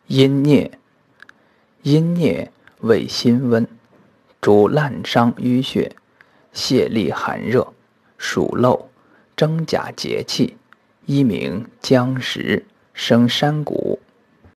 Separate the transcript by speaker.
Speaker 1: 阴镊，阴镊味辛温，主烂伤淤血，泄痢寒热，属漏，真假节气，一名姜石，生山谷，